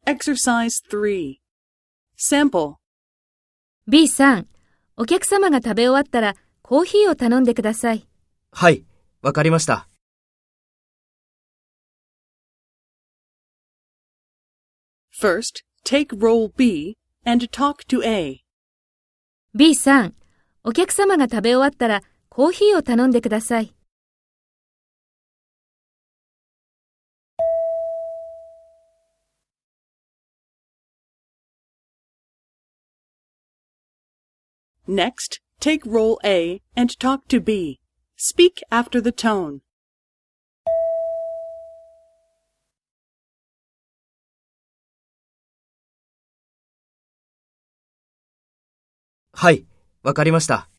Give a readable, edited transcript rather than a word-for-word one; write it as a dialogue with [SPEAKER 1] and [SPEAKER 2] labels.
[SPEAKER 1] Exercise 3. Sample.
[SPEAKER 2] B さん、お客様が食べ終わったらコーヒーを頼んでください。
[SPEAKER 3] はい、わかりました。
[SPEAKER 1] First, take role B and talk to A.
[SPEAKER 2] B さん、お客様が食べ終わったらコーヒーを頼んでください。
[SPEAKER 1] Next, take role A and talk to B. Speak after the tone.
[SPEAKER 3] はい、わかりました。